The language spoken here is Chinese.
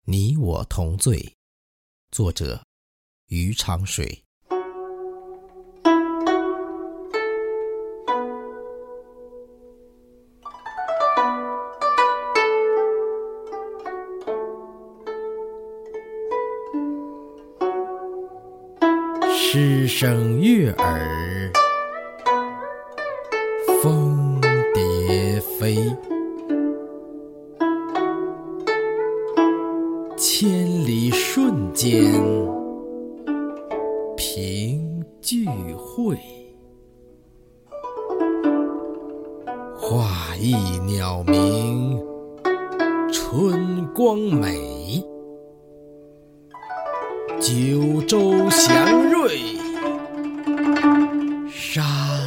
你我同醉。作者余长水。诗声悦耳，蜂蝶飞，千里瞬间平聚会，画意鸟鸣，春光美，九州祥瑞，山